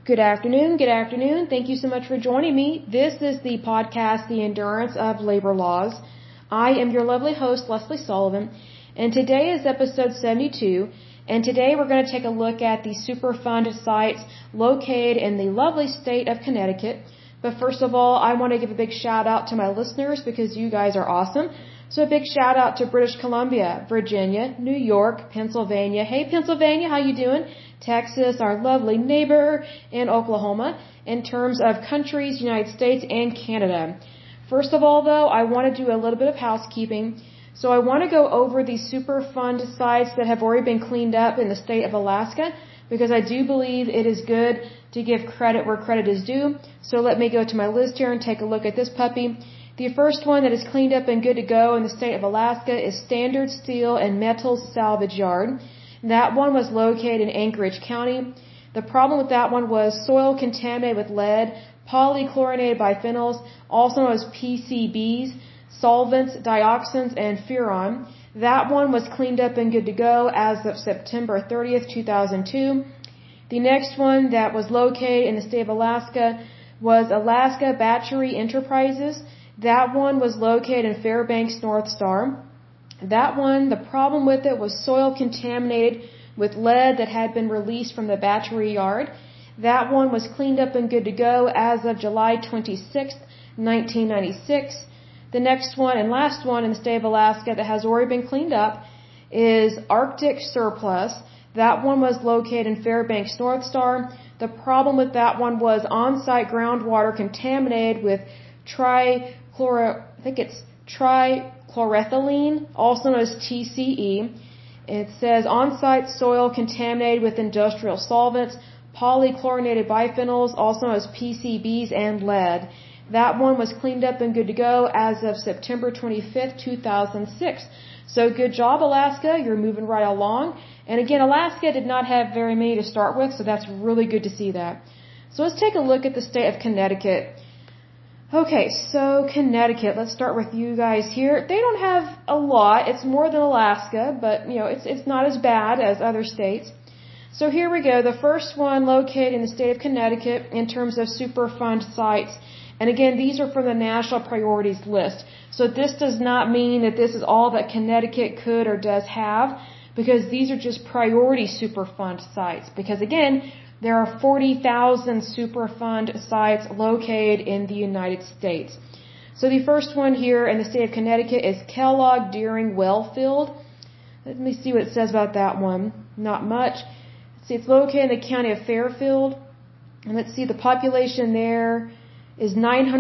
Good afternoon. Good afternoon. Thank you so much for joining me. This is the podcast, The Endurance of Labor Laws. I am your lovely host, Leslie Sullivan, and today is episode 72, and today we're going to take a look at the Superfund sites located in the lovely state of Connecticut. But first of all, I want to give a big shout out to my listeners because you guys are awesome. So a big shout out to British Columbia, Virginia, New York, Pennsylvania. Hey Pennsylvania, how you doing? Texas, our lovely neighbor, and Oklahoma, in terms of countries, United States, and Canada. First of all, though, I want to do a little bit of housekeeping. So I want to go over the Superfund sites that have already been cleaned up in the state of Alaska, because I do believe it is good to give credit where credit is due. So let me go to my list here and take a look at this puppy. The first one that is cleaned up and good to go in the state of Alaska is Standard Steel and Metals Salvage Yard. That one was located in Anchorage County. The problem with that one was soil contaminated with lead, polychlorinated biphenyls, also known as PCBs, solvents, dioxins, and furan. That one was cleaned up and good to go as of September 30th, 2002. The next one that was located in the state of Alaska was Alaska Battery Enterprises. That one was located in Fairbanks, North Star. That one, the problem with it was soil contaminated with lead that had been released from the battery yard. That one was cleaned up and good to go as of July 26th, 1996. The next one and last one in the state of Alaska that has already been cleaned up is Arctic Surplus. That one was located in Fairbanks, North Star. The problem with that one was on-site groundwater contaminated with trichloroethylene, also known as TCE. It says on-site soil contaminated with industrial solvents, polychlorinated biphenyls, also known as PCBs, and lead. That one was cleaned up and good to go as of September 25th, 2006. So good job, Alaska. You're moving right along. And again, Alaska did not have very many to start with, so that's really good to see that. So let's take a look at the state of Connecticut. Okay, so Connecticut, let's start with you guys here. They don't have a lot. It's more than Alaska, but it's not as bad as other states. So here we go. The first one located in the state of Connecticut in terms of Superfund sites. And again, these are from the National Priorities List. So this does not mean that this is all that Connecticut could or does have, because these are just priority Superfund sites. Because again, there are 40,000 Superfund sites located in the United States. So the first one here in the state of Connecticut is Kellogg Deering Wellfield. Let me see what it says about that one. Not much. Let's see, it's located in the county of Fairfield. And let's see, the population there is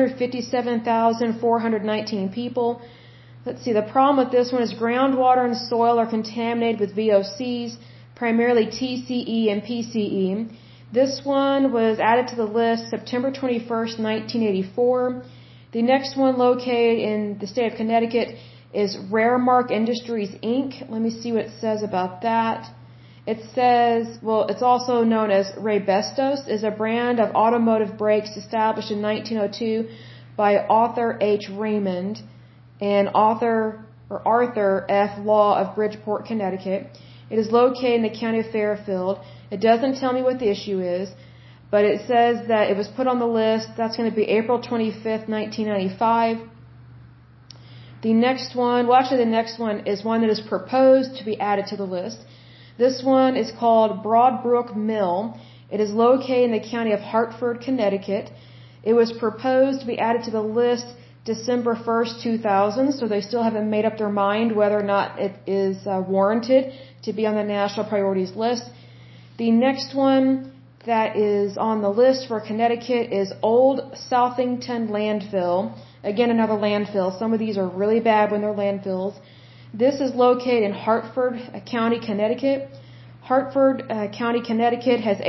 957,419 people. Let's see, the problem with this one is groundwater and soil are contaminated with VOCs, primarily TCE and PCE. This one was added to the list September 21st, 1984. The next one located in the state of Connecticut is Raremark Industries, Inc. Let me see what it says about that. It says, it's also known as Raybestos, is a brand of automotive brakes established in 1902 by Arthur H. Raymond and Arthur F. Law of Bridgeport, Connecticut. It is located in the county of Fairfield. It doesn't tell me what the issue is, but it says that it was put on the list. That's going to be April 25th, 1995. The next one is one that is proposed to be added to the list. This one is called Broadbrook Mill. It is located in the county of Hartford, Connecticut. It was proposed to be added to the list December 1st, 2000, so they still haven't made up their mind whether or not it is warranted to be on the national priorities list. The next one that is on the list for Connecticut is Old Southington Landfill. Again, another landfill. Some of these are really bad when they're landfills. This is located in Hartford County, Connecticut. Hartford County, Connecticut has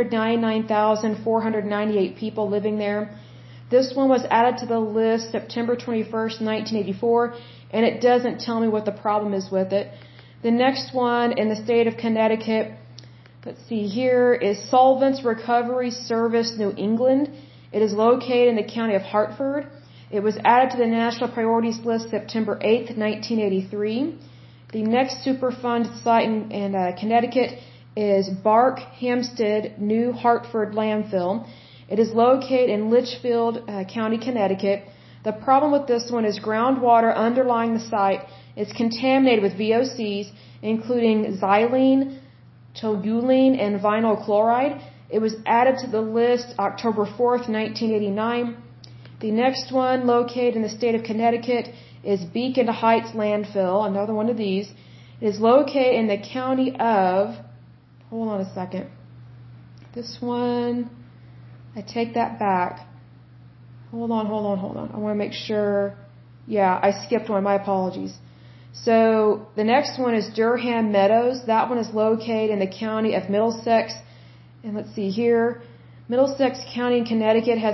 899,498 people living there. This one was added to the list September 21st, 1984, and it doesn't tell me what the problem is with it. The next one in the state of Connecticut, let's see here, is Solvents Recovery Service, New England. It is located in the county of Hartford. It was added to the National Priorities List September 8th, 1983. The next Superfund site in Connecticut is Bark Hampstead New Hartford landfill. It is located in Litchfield County, Connecticut. The problem with this one is groundwater underlying the site is contaminated with VOCs, including xylene, toluene, and vinyl chloride. It was added to the list October 4th, 1989. The next one, located in the state of Connecticut, is Beacon Heights landfill, another one of these. It is located in the county of, hold on a second, this one, I take that back. Hold on. I want to make sure. Yeah, I skipped one. My apologies. So the next one is Durham Meadows. That one is located in the county of Middlesex. And let's see here. Middlesex County in Connecticut has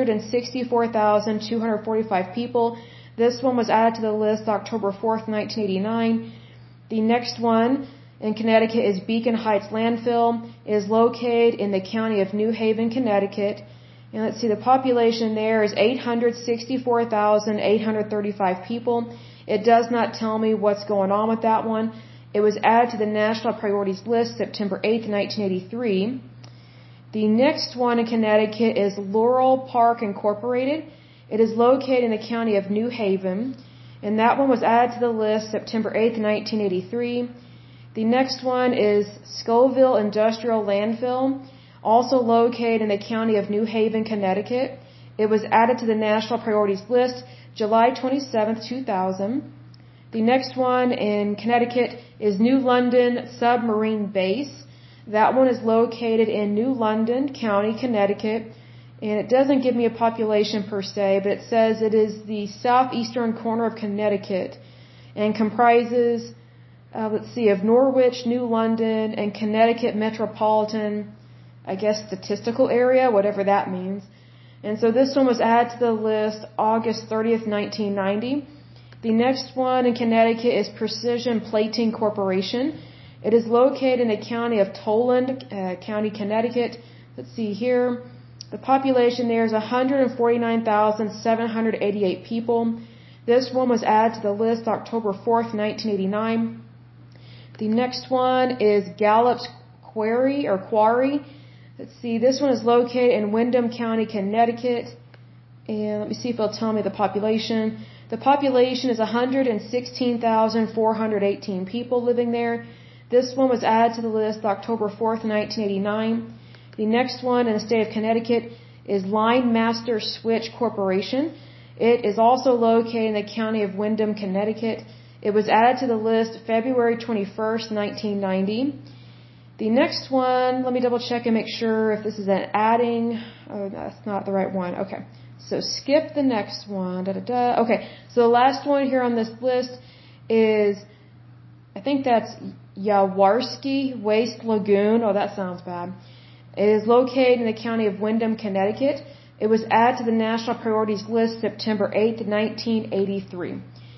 164,245 people. This one was added to the list October 4th, 1989. The next one in Connecticut is Beacon Heights Landfill. It is located in the county of New Haven, Connecticut. And let's see, the population there is 864,835 people. It does not tell me what's going on with that one. It was added to the National Priorities List September 8th, 1983. The next one in Connecticut is Laurel Park Incorporated. It is located in the county of New Haven. And that one was added to the list September 8th, 1983. The next one is Scoville Industrial Landfill, also located in the county of New Haven, Connecticut. It was added to the National Priorities List July 27, 2000. The next one in Connecticut is New London Submarine Base. That one is located in New London County, Connecticut. And it doesn't give me a population per se, but it says it is the southeastern corner of Connecticut and comprises, of Norwich, New London, and Connecticut metropolitan, I guess, statistical area, whatever that means. And so this one was added to the list August 30th, 1990. The next one in Connecticut is Precision Plating Corporation. It is located in the county of Toland, County, Connecticut. Let's see here. The population there is 149,788 people. This one was added to the list October 4th, 1989. The next one is Gallup's Quarry. Let's see, this one is located in Windham County, Connecticut. And let me see if it'll tell me the population. The population is 116,418 people living there. This one was added to the list October 4th, 1989. The next one in the state of Connecticut is Line Master Switch Corporation. It is also located in the county of Windham, Connecticut. It was added to the list February 21st, 1990. The next one, let me double check and make sure if this is an adding. Oh, that's not the right one. Okay. So skip the next one. Okay. So the last one here on this list is, I think that's Yawarski Waste Lagoon. Oh, that sounds bad. It is located in the county of Windham, Connecticut. It was added to the National Priorities List September 8th, 1983.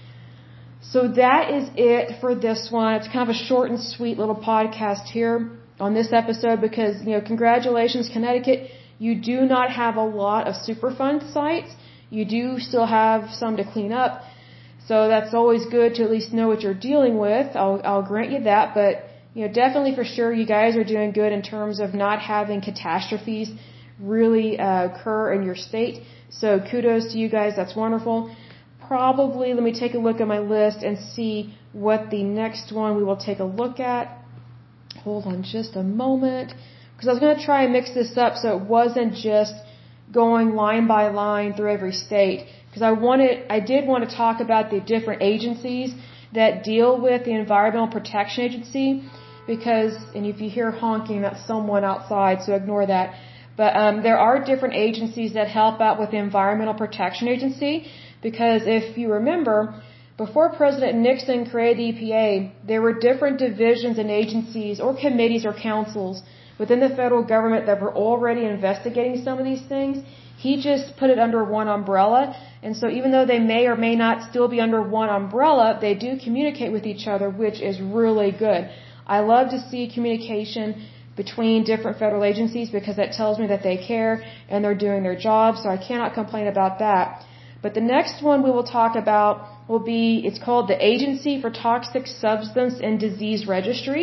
So that is it for this one. It's kind of a short and sweet little podcast here on this episode because, congratulations, Connecticut. You do not have a lot of Superfund sites. You do still have some to clean up. So that's always good to at least know what you're dealing with. I'll grant you that. But, definitely for sure you guys are doing good in terms of not having catastrophes really occur in your state. So kudos to you guys. That's wonderful. Probably, let me take a look at my list and see what the next one we will take a look at. Hold on just a moment. Because I was going to try and mix this up so it wasn't just going line by line through every state. Because I did want to talk about the different agencies that deal with the Environmental Protection Agency. Because, and if you hear honking, that's someone outside, so ignore that. But there are different agencies that help out with the Environmental Protection Agency. Because if you remember, before President Nixon created the EPA, there were different divisions and agencies or committees or councils within the federal government that were already investigating some of these things. He just put it under one umbrella. And so even though they may or may not still be under one umbrella, they do communicate with each other, which is really good. I love to see communication between different federal agencies because that tells me that they care and they're doing their job. So I cannot complain about that. But the next one we will talk about will be, it's called the Agency for Toxic Substance and Disease Registry.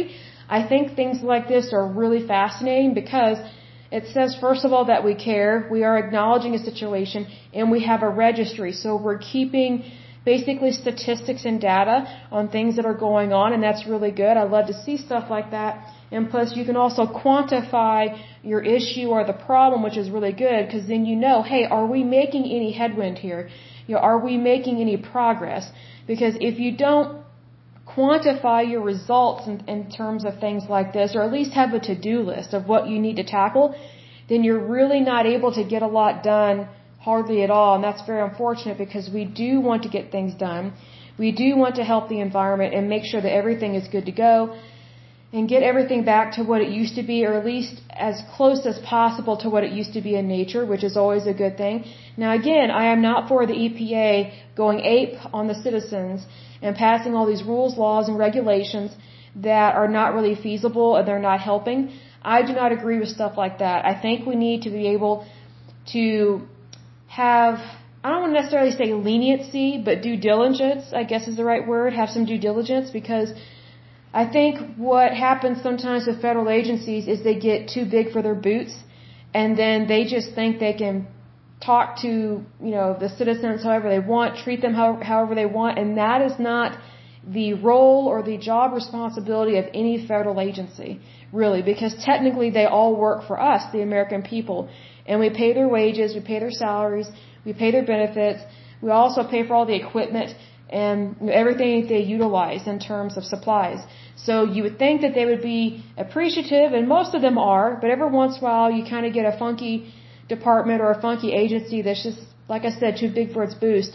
I think things like this are really fascinating because it says, first of all, that we care, we are acknowledging a situation, and we have a registry. So we're keeping basically statistics and data on things that are going on, and that's really good. I love to see stuff like that. And plus, you can also quantify your issue or the problem, which is really good, because then you know, hey, are we making any headwind here? Are we making any progress? Because if you don't quantify your results in terms of things like this, or at least have a to-do list of what you need to tackle, then you're really not able to get a lot done hardly at all. And that's very unfortunate because we do want to get things done. We do want to help the environment and make sure that everything is good to go and get everything back to what it used to be, or at least as close as possible to what it used to be in nature, which is always a good thing. Now again, I am not for the EPA going ape on the citizens and passing all these rules, laws, and regulations that are not really feasible and they're not helping. I do not agree with stuff like that. I think we need to be able to have, I don't want to necessarily say leniency, but due diligence, I guess is the right word, have some due diligence, because I think what happens sometimes with federal agencies is they get too big for their boots, and then they just think they can talk to, the citizens however they want, treat them however they want, and that is not the role or the job responsibility of any federal agency, really, because technically they all work for us, the American people, and we pay their wages, we pay their salaries, we pay their benefits, we also pay for all the equipment and everything they utilize in terms of supplies. So you would think that they would be appreciative, and most of them are, but every once in a while you kind of get a funky department or a funky agency that's just, like I said, too big for its boots,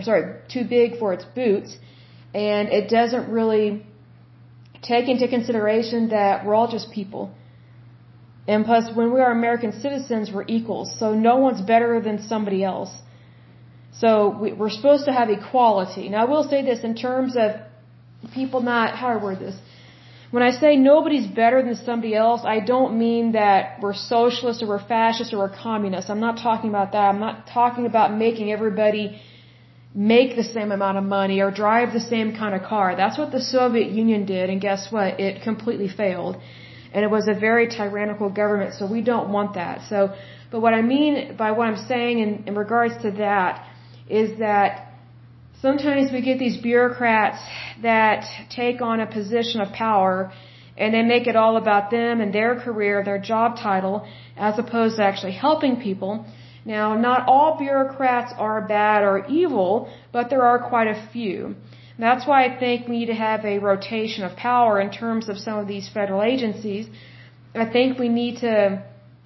and it doesn't really take into consideration that we're all just people. And plus, when we are American citizens, we're equals, so no one's better than somebody else. So we're supposed to have equality. Now, I will say this in terms of people not, how do I word this? When I say nobody's better than somebody else, I don't mean that we're socialists or we're fascists or we're communists. I'm not talking about that. I'm not talking about making everybody make the same amount of money or drive the same kind of car. That's what the Soviet Union did, and guess what? It completely failed. And it was a very tyrannical government, so we don't want that. But what I mean by what I'm saying in regards to that is that sometimes we get these bureaucrats that take on a position of power and they make it all about them and their career, their job title, as opposed to actually helping people. Now, not all bureaucrats are bad or evil, but there are quite a few. That's why I think we need to have a rotation of power in terms of some of these federal agencies. I think we need to,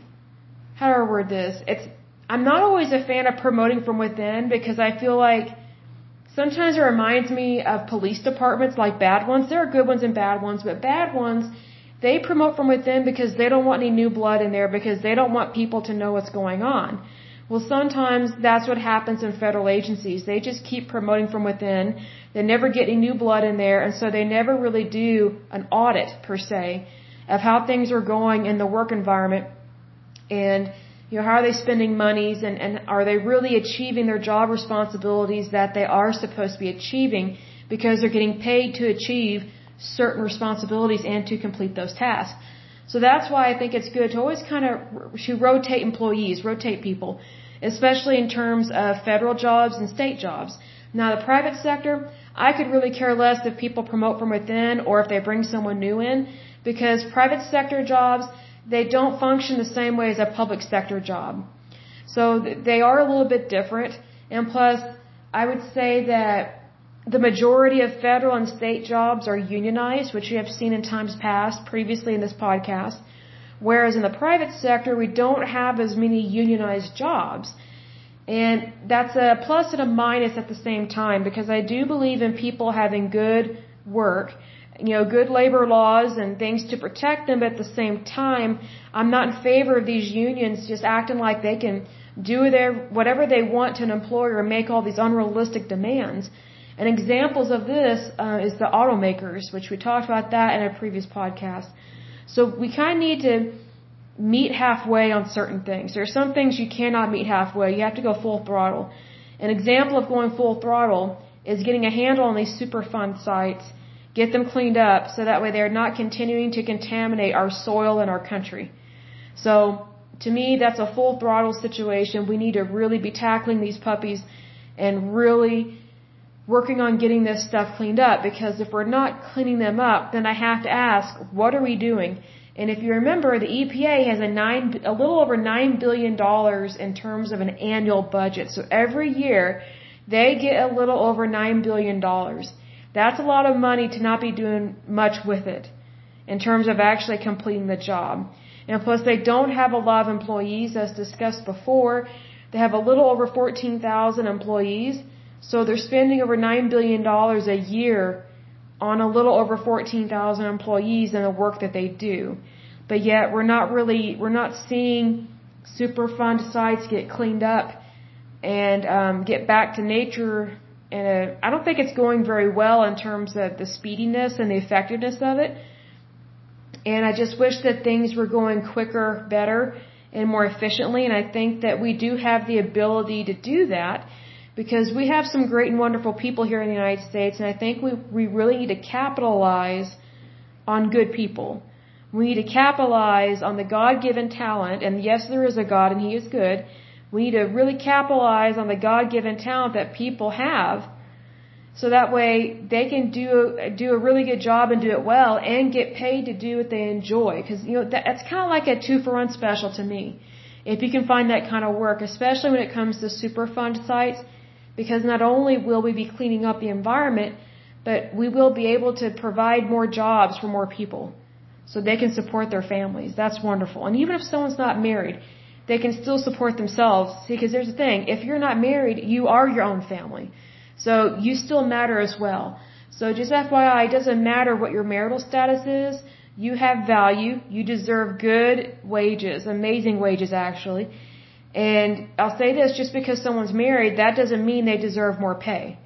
how do I word this? I'm not always a fan of promoting from within because I feel like sometimes it reminds me of police departments, like bad ones. There are good ones and bad ones, but bad ones, they promote from within because they don't want any new blood in there, because they don't want people to know what's going on. Well, sometimes that's what happens in federal agencies. They just keep promoting from within. They never get any new blood in there, and so they never really do an audit, per se, of how things are going in the work environment and how are they spending monies, and are they really achieving their job responsibilities that they are supposed to be achieving, because they're getting paid to achieve certain responsibilities and to complete those tasks. So that's why I think it's good to always kind of rotate employees, rotate people, especially in terms of federal jobs and state jobs. Now, the private sector, I could really care less if people promote from within or if they bring someone new in, because private sector jobs, they don't function the same way as a public sector job. So they are a little bit different. And plus, I would say that the majority of federal and state jobs are unionized, which you have seen in times past, previously in this podcast. Whereas in the private sector, we don't have as many unionized jobs. And that's a plus and a minus at the same time, because I do believe in people having good work, good labor laws and things to protect them, but at the same time, I'm not in favor of these unions just acting like they can do whatever they want to an employer and make all these unrealistic demands. And examples of this is the automakers, which we talked about that in a previous podcast. So we kind of need to meet halfway on certain things. There are some things you cannot meet halfway. You have to go full throttle. An example of going full throttle is getting a handle on these Superfund sites get them cleaned up so that way they're not continuing to contaminate our soil and our country. So to me, that's a full throttle situation. We need to really be tackling these puppies and really working on getting this stuff cleaned up, because if we're not cleaning them up, then I have to ask, what are we doing? And if you remember, the EPA has a little over $9 billion in terms of an annual budget. So every year, they get a little over $9 billion. That's a lot of money to not be doing much with it in terms of actually completing the job. And plus, they don't have a lot of employees, as discussed before. They have a little over 14,000 employees. So they're spending over $9 billion a year on a little over 14,000 employees and the work that they do. But yet we're not seeing Superfund sites get cleaned up and get back to nature. And I don't think it's going very well in terms of the speediness and the effectiveness of it. And I just wish that things were going quicker, better, and more efficiently. And I think that we do have the ability to do that, because we have some great and wonderful people here in the United States, and I think we really need to capitalize on good people. We need to capitalize on the God-given talent, and yes, there is a God and He is good. We need to really capitalize on the God-given talent that people have, so that way they can do a really good job and do it well and get paid to do what they enjoy. Because that's kind of like a 2-for-1 special to me, if you can find that kind of work, especially when it comes to Superfund sites. Because not only will we be cleaning up the environment, but we will be able to provide more jobs for more people so they can support their families. That's wonderful. And even if someone's not married, they can still support themselves. See, because there's the thing, if you're not married, you are your own family. So you still matter as well. So just FYI, it doesn't matter what your marital status is. You have value. You deserve good wages, amazing wages actually. And I'll say this, just because someone's married, that doesn't mean they deserve more pay.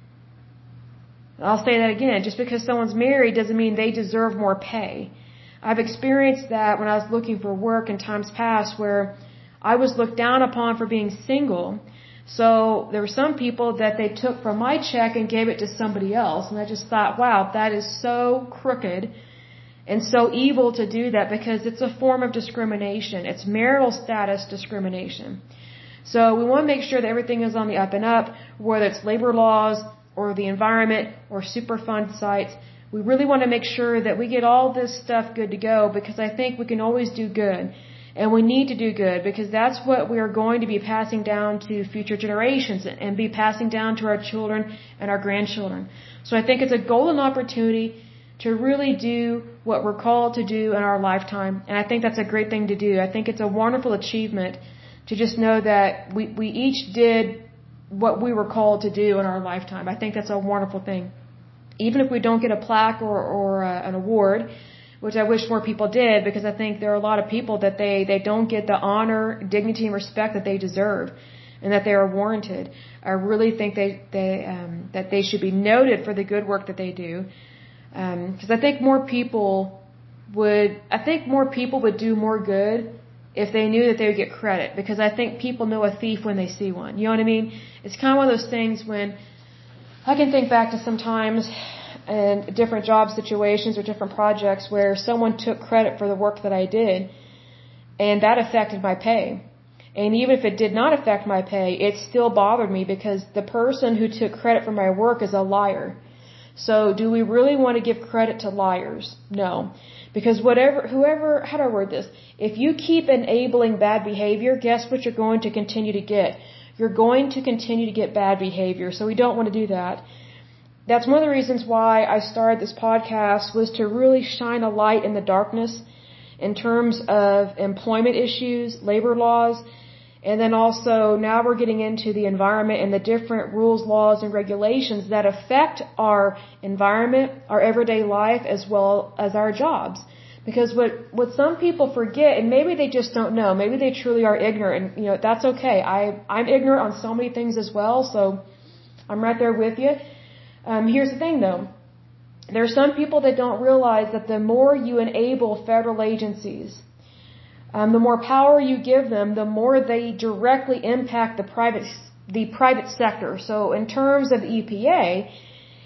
I'll say that again, just because someone's married doesn't mean they deserve more pay. I've experienced that when I was looking for work in times past, where I was looked down upon for being single. So there were some people that they took from my check and gave it to somebody else. And I just thought, wow, that is so crooked and so evil to do that, because it's a form of discrimination. It's marital status discrimination. So we want to make sure that everything is on the up and up, whether it's labor laws or the environment or Superfund sites. We really want to make sure that we get all this stuff good to go, because I think we can always do good. And we need to do good, because that's what we are going to be passing down to future generations and be passing down to our children and our grandchildren. So I think it's a golden opportunity to really do what we're called to do in our lifetime. And I think that's a great thing to do. I think it's a wonderful achievement to just know that we each did what we were called to do in our lifetime. I think that's a wonderful thing. Even if we don't get a plaque or an award, which I wish more people did, because I think there are a lot of people that they don't get the honor, dignity, and respect that they deserve and that they are warranted. I really think that they should be noted for the good work that they do. Because I think more people would do more good if they knew that they would get credit. Because I think people know a thief when they see one. You know what I mean? It's kind of one of those things when I can think back to some times in different job situations or different projects where someone took credit for the work that I did, and that affected my pay. And even if it did not affect my pay, it still bothered me, because the person who took credit for my work is a liar. So do we really want to give credit to liars? No. Because how do I word this? If you keep enabling bad behavior, guess what you're going to continue to get? You're going to continue to get bad behavior. So we don't want to do that. That's one of the reasons why I started this podcast, was to really shine a light in the darkness in terms of employment issues, labor laws, and then also now we're getting into the environment and the different rules, laws, and regulations that affect our environment, our everyday life, as well as our jobs. Because what some people forget, and maybe they just don't know, maybe they truly are ignorant, and that's okay. I'm ignorant on so many things as well, so I'm right there with you. Here's the thing though. There are some people that don't realize that the more you enable federal agencies, the more power you give them, the more they directly impact the private sector. So in terms of the EPA,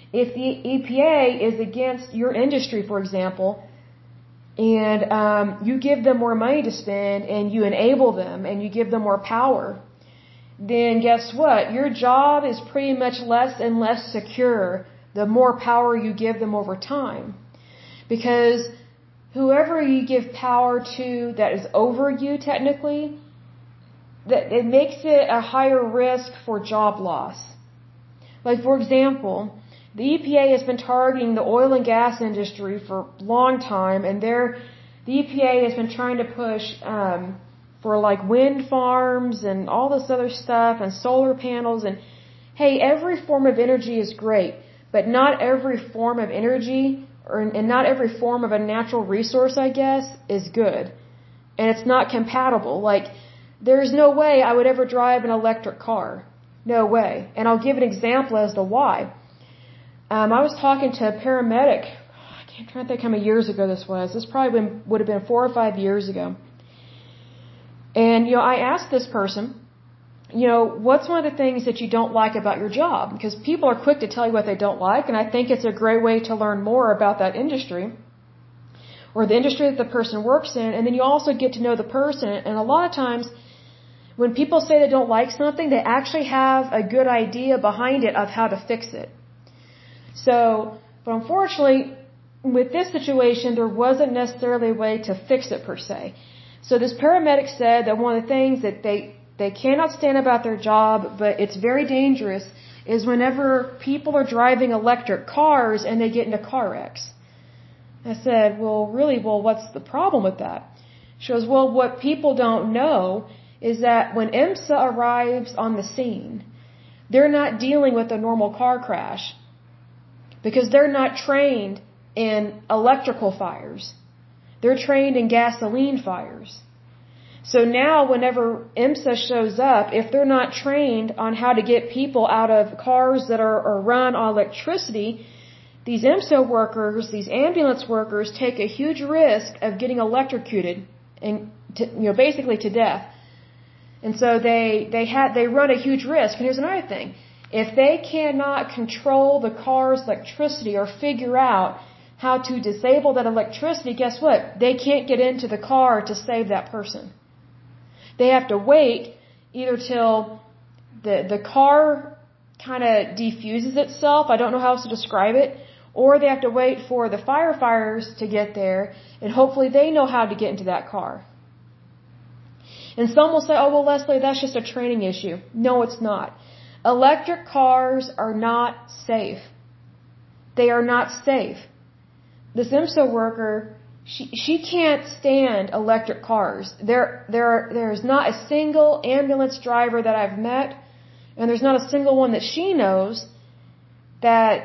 If the EPA is against your industry, for example, and you give them more money to spend and you enable them and you give them more power, then guess what? Your job is pretty much less and less secure the more power you give them over time. Because whoever you give power to that is over you technically, that it makes it a higher risk for job loss. Like, for example, the EPA has been targeting the oil and gas industry for a long time, and the EPA has been trying to push for like wind farms and all this other stuff and solar panels. And hey, every form of energy is great, but not every form of energy and not every form of a natural resource, I guess, is good. And it's not compatible. Like, there's no way I would ever drive an electric car. No way. And I'll give an example as to why. I was talking to a paramedic. I can't try to think how many years ago this was. This probably would have been 4 or 5 years ago. And, I asked this person, what's one of the things that you don't like about your job? Because people are quick to tell you what they don't like, and I think it's a great way to learn more about that industry or the industry that the person works in, and then you also get to know the person. And a lot of times, when people say they don't like something, they actually have a good idea behind it of how to fix it. But unfortunately, with this situation, there wasn't necessarily a way to fix it per se. So this paramedic said that one of the things that they cannot stand about their job, but it's very dangerous, is whenever people are driving electric cars and they get into car wrecks. I said, well, what's the problem with that? She goes, well, what people don't know is that when IMSA arrives on the scene, they're not dealing with a normal car crash because they're not trained in electrical fires. They're trained in gasoline fires. So now whenever IMSA shows up, if they're not trained on how to get people out of cars that are run on electricity, these IMSA workers, these ambulance workers, take a huge risk of getting electrocuted and basically to death. And so they run a huge risk. And here's another thing. If they cannot control the car's electricity or figure out how to disable that electricity, guess what? They can't get into the car to save that person. They have to wait either till the car kind of defuses itself, I don't know how else to describe it, or they have to wait for the firefighters to get there, and hopefully they know how to get into that car. And some will say, oh, well, Leslie, that's just a training issue. No, it's not. Electric cars are not safe. They are not safe. This IMSA worker, she can't stand electric cars. There's not a single ambulance driver that I've met, and there's not a single one that she knows that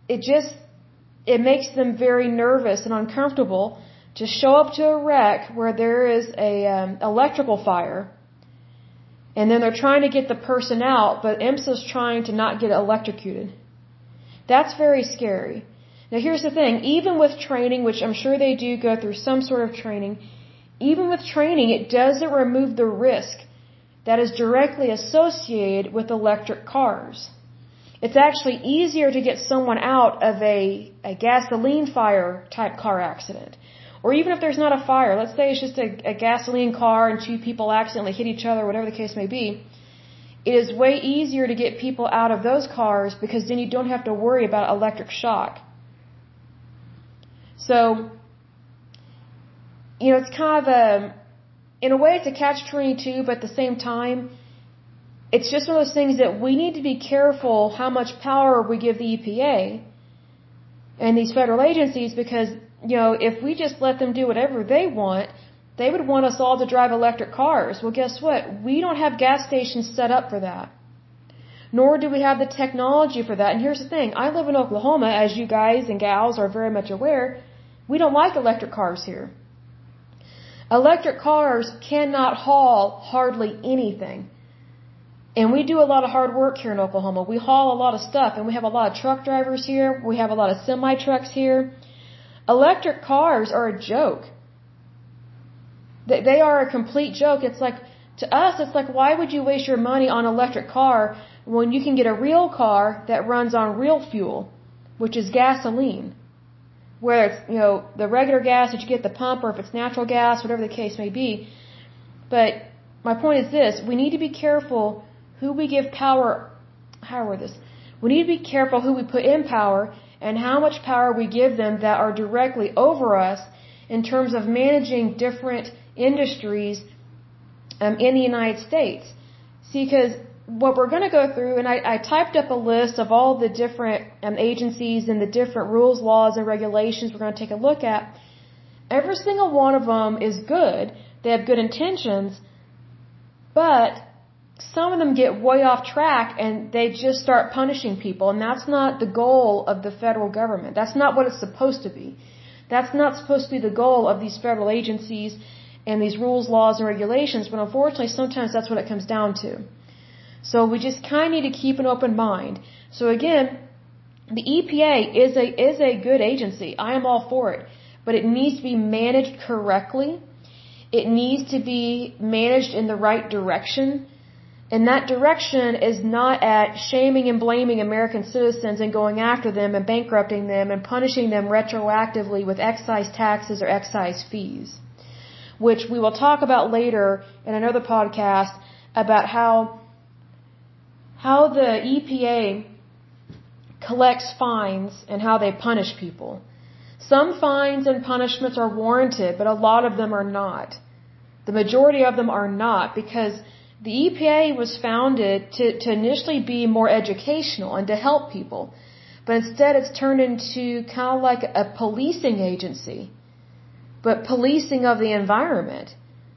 it makes them very nervous and uncomfortable to show up to a wreck where there is a electrical fire, and then they're trying to get the person out, but IMSA's trying to not get electrocuted. That's very scary. Now here's the thing, even with training, which I'm sure they do go through some sort of training, even with training, it doesn't remove the risk that is directly associated with electric cars. It's actually easier to get someone out of a gasoline fire type car accident. Or even if there's not a fire, let's say it's just a gasoline car and two people accidentally hit each other, whatever the case may be, it is way easier to get people out of those cars because then you don't have to worry about electric shock. So, it's kind of in a way it's a catch-22, but at the same time, it's just one of those things that we need to be careful how much power we give the EPA and these federal agencies because, if we just let them do whatever they want, they would want us all to drive electric cars. Well, guess what? We don't have gas stations set up for that. Nor do we have the technology for that. And here's the thing. I live in Oklahoma, as you guys and gals are very much aware. We don't like electric cars here. Electric cars cannot haul hardly anything. And we do a lot of hard work here in Oklahoma. We haul a lot of stuff, and we have a lot of truck drivers here. We have a lot of semi-trucks here. Electric cars are a joke. They are a complete joke. It's like, to us, it's like, why would you waste your money on an electric car when you can get a real car that runs on real fuel? which is gasoline. Whether it's, the regular gas that you get at the pump, or if it's natural gas, whatever the case may be. But my point is this: we need to be careful who we give power. How word this? We need to be careful who we put in power and how much power we give them that are directly over us in terms of managing different industries in the United States. See, because what we're going to go through, and I typed up a list of all the different agencies and the different rules, laws, and regulations we're going to take a look at. Every single one of them is good. They have good intentions, but some of them get way off track and they just start punishing people, and that's not the goal of the federal government. That's not what it's supposed to be. That's not supposed to be the goal of these federal agencies and these rules, laws, and regulations, but unfortunately sometimes that's what it comes down to. So we just kind of need to keep an open mind. So again, the EPA is a good agency. I am all for it. But it needs to be managed correctly. It needs to be managed in the right direction. And that direction is not at shaming and blaming American citizens and going after them and bankrupting them and punishing them retroactively with excise taxes or excise fees, which we will talk about later in another podcast about how the EPA collects fines and how they punish people. Some fines and punishments are warranted, but a lot of them are not. The majority of them are not, because the EPA was founded to initially be more educational and to help people. But instead it's turned into kind of like a policing agency, but policing of the environment.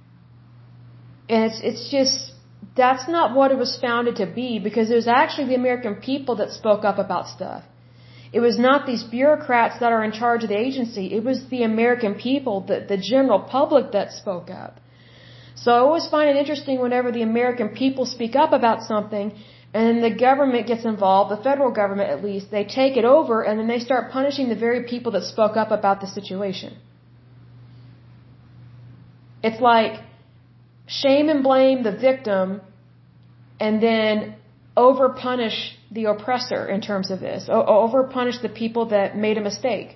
And it's just, that's not what it was founded to be, because it was actually the American people that spoke up about stuff. It was not these bureaucrats that are in charge of the agency. It was the American people, the general public, that spoke up. So I always find it interesting whenever the American people speak up about something and then the government gets involved, the federal government at least, they take it over and then they start punishing the very people that spoke up about the situation. It's like shame and blame the victim and then over-punish the oppressor in terms of this. Over-punish the people that made a mistake.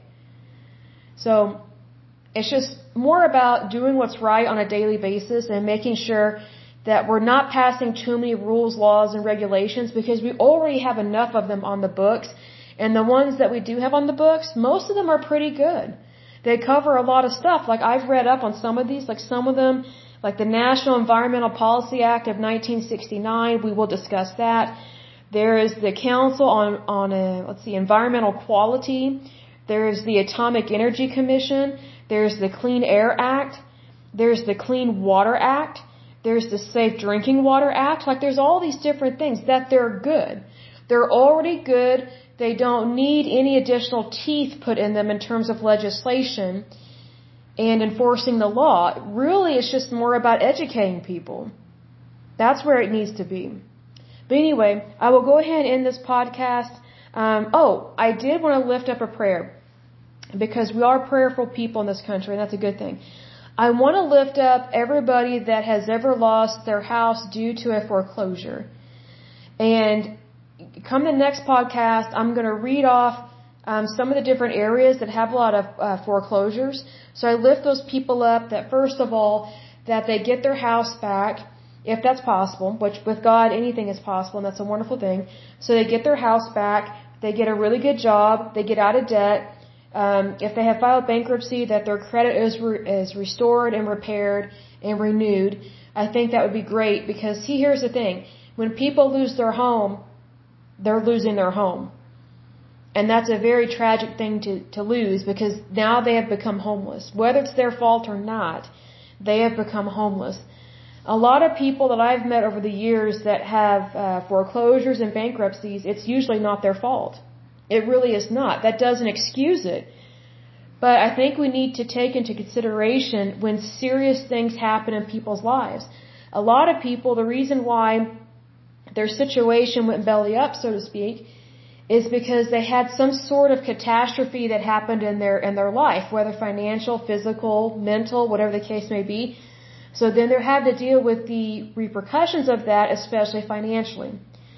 So it's just more about doing what's right on a daily basis and making sure that we're not passing too many rules, laws, and regulations, because we already have enough of them on the books. And the ones that we do have on the books, most of them are pretty good. They cover a lot of stuff. Like, I've read up on some of these, like some of them, like the National Environmental Policy Act of 1969, we will discuss that. There is the Council on Environmental Quality. There's the Atomic Energy Commission. There's the Clean Air Act. There's the Clean Water Act. There's the Safe Drinking Water Act. Like, there's all these different things that they're good. They're already good. They don't need any additional teeth put in them in terms of legislation and enforcing the law. Really, it's just more about educating people. That's where it needs to be. But anyway, I will go ahead and end this podcast. I did want to lift up a prayer, because we are prayerful people in this country, and that's a good thing. I want to lift up everybody that has ever lost their house due to a foreclosure. And come the next podcast, I'm going to read off some of the different areas that have a lot of foreclosures. So I lift those people up that, first of all, that they get their house back, if that's possible, which with God anything is possible, and that's a wonderful thing. So they get their house back, they get a really good job, they get out of debt. If they have filed bankruptcy, that their credit is restored and repaired and renewed. I think that would be great, because here's the thing. When people lose their home, they're losing their home. And that's a very tragic thing to lose, because now they have become homeless. Whether it's their fault or not, they have become homeless. A lot of people that I've met over the years that have foreclosures and bankruptcies, it's usually not their fault. It really is not. That doesn't excuse it. But I think we need to take into consideration when serious things happen in people's lives. A lot of people, the reason why their situation went belly up, so to speak, is because they had some sort of catastrophe that happened in their life, whether financial, physical, mental, whatever the case may be. So then they had to deal with the repercussions of that, especially financially.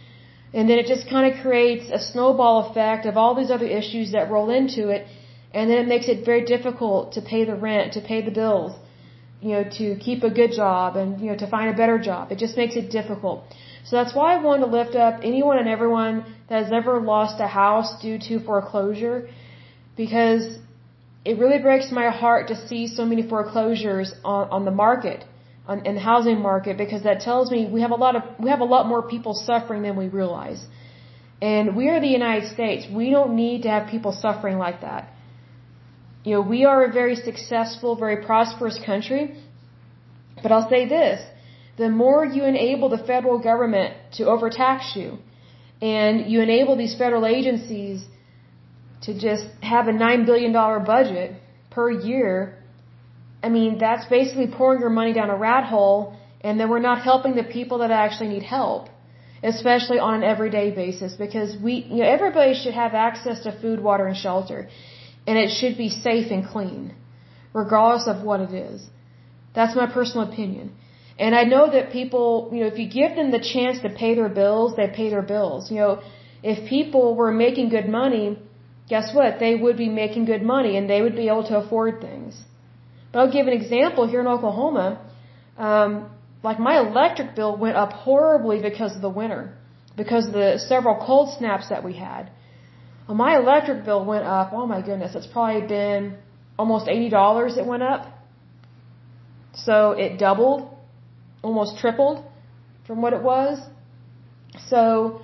And then it just kind of creates a snowball effect of all these other issues that roll into it. And then it makes it very difficult to pay the rent, to pay the bills, to keep a good job and, to find a better job. It just makes it difficult. So that's why I want to lift up anyone and everyone that has ever lost a house due to foreclosure, because it really breaks my heart to see so many foreclosures on the market, in the housing market, because that tells me we have a lot more people suffering than we realize. And we are the United States. We don't need to have people suffering like that. We are a very successful, very prosperous country. But I'll say this, the more you enable the federal government to overtax you, and you enable these federal agencies to just have a $9 billion budget per year, that's basically pouring your money down a rat hole, and then we're not helping the people that actually need help, especially on an everyday basis, because everybody should have access to food, water, and shelter, and it should be safe and clean, regardless of what it is. That's my personal opinion. And I know that people, if you give them the chance to pay their bills, they pay their bills. If people were making good money, guess what? They would be making good money and they would be able to afford things. But I'll give an example here in Oklahoma. Like my electric bill went up horribly because of the winter, because of the several cold snaps that we had. Well, my electric bill went up, oh my goodness, it's probably been almost $80 it went up. So it doubled, almost tripled from what it was. So,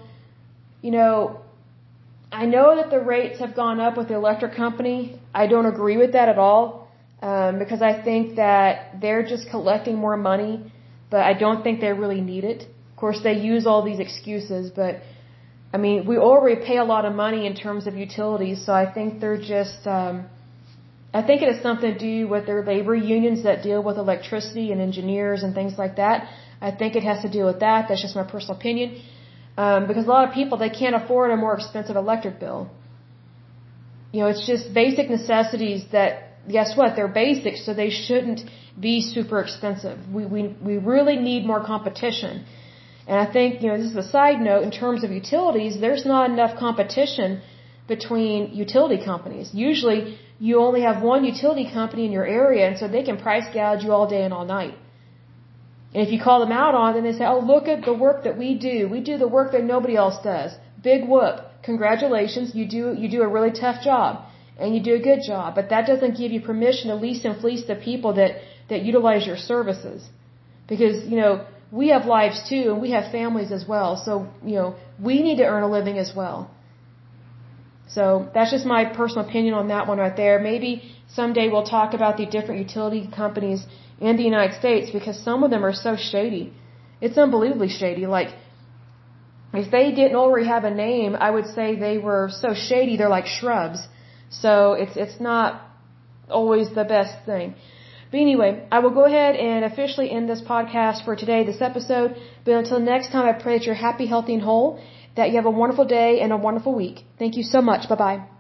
I know that the rates have gone up with the electric company. I don't agree with that at all, because I think that they're just collecting more money, but I don't think they really need it. Of course, they use all these excuses, but we already pay a lot of money in terms of utilities, so I think they're just, I think it has something to do with their labor unions that deal with electricity and engineers and things like that. I think it has to do with that. That's just my personal opinion. Because a lot of people, they can't afford a more expensive electric bill. It's just basic necessities that, guess what, they're basic, so they shouldn't be super expensive. We really need more competition. And I think, this is a side note, in terms of utilities, there's not enough competition between utility companies. Usually, you only have one utility company in your area, and so they can price gouge you all day and all night. And if you call them out on it, then they say, oh, look at the work that we do. We do the work that nobody else does. Big whoop. Congratulations. You do a really tough job. And you do a good job. But that doesn't give you permission to lease and fleece the people that utilize your services. Because, we have lives too, and we have families as well. So, we need to earn a living as well. So that's just my personal opinion on that one right there. Maybe someday we'll talk about the different utility companies in the United States, because some of them are so shady. It's unbelievably shady. Like, if they didn't already have a name, I would say they were so shady they're like shrubs. So it's not always the best thing. But anyway, I will go ahead and officially end this podcast for today, this episode. But until next time, I pray that you're happy, healthy, and whole, that you have a wonderful day and a wonderful week. Thank you so much. Bye-bye.